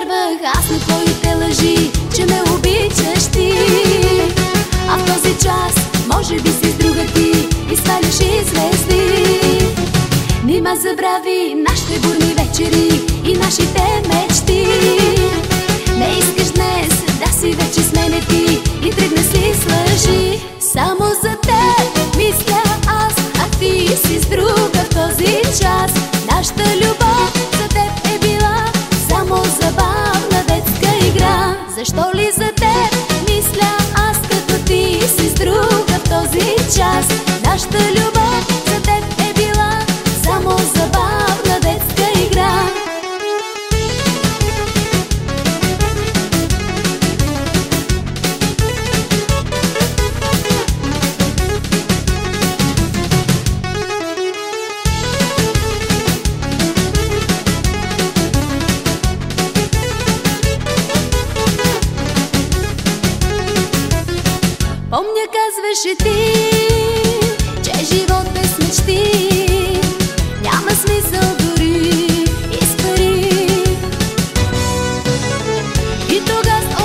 повярвах аз на твоите лъжи, че ме обичаш ти. А в този час може би си с друга ти и сваляш и звезди. Нима забрави нашите бурни вечери и нашите мечти. Не искаш днес да си вече с мене ти и тръгна си с лъжи. Само за теб мисля аз, а ти си с друга в този час. Нашата любов за теб е била само забавна детска игра. Защо ли за теб мисля аз, като ти си с друга в този час? Нашата любов за теб е била само забавна детска игра. Помня, казваше ти, че живот без мечти няма смисъл дори и с пари. И тогава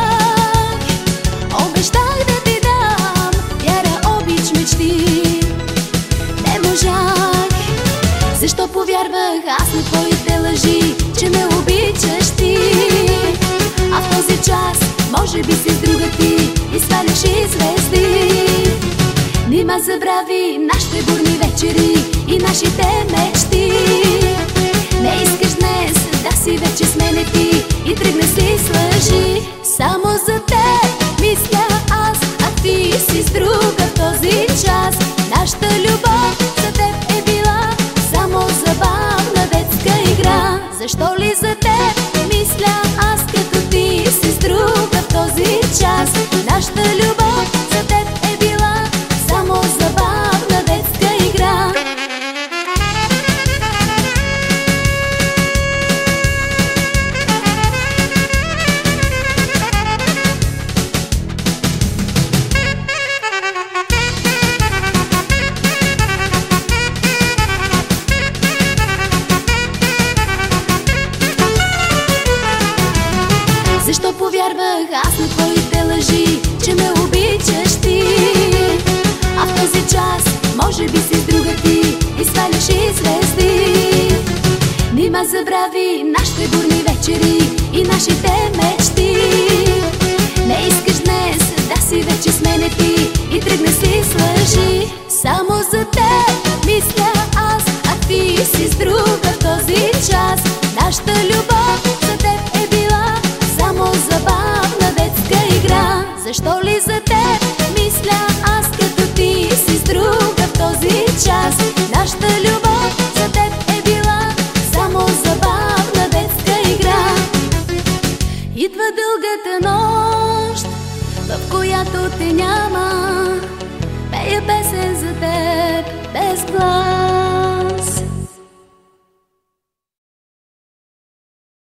обещах да ти дам вяра, обич, мечти. Не можах, защо повярвах аз на твоите лъжи, че ме обичаш ти. А в този час може би си с друга ти и сваляш и звезди. Нима забрави нашите бурни вечери и нашите мечти. Не искаш днес да си вече с мене ти и тръгна си с лъжи. Само за теб мисля аз, а ти си с друга в този час. Нашата любов за теб е била само забавна детска игра. Защо ли за теб мисля аз, като ти си с друга в този час? Нашата любов за теб е била само забавна детска игра. Защо повярвах аз на твоите лъжи, че ме обичаш ти? А в този час може би си с друга ти и сваляш и звезди. Нима забрави нашите бурни вечери и нашите мечти. Не искаш днес да си вече с мене ти и тръгна си с лъжи. Само за теб мисля аз, а ти си с друга в този час. Нашата любов за теб е била само забавна детска игра. Защо ли за теб мисля аз, като ти си с друга в този час? Нашата любов за теб е била само забавна детска игра. Идва дългата нощ, в която те няма, пея песен за теб без плач.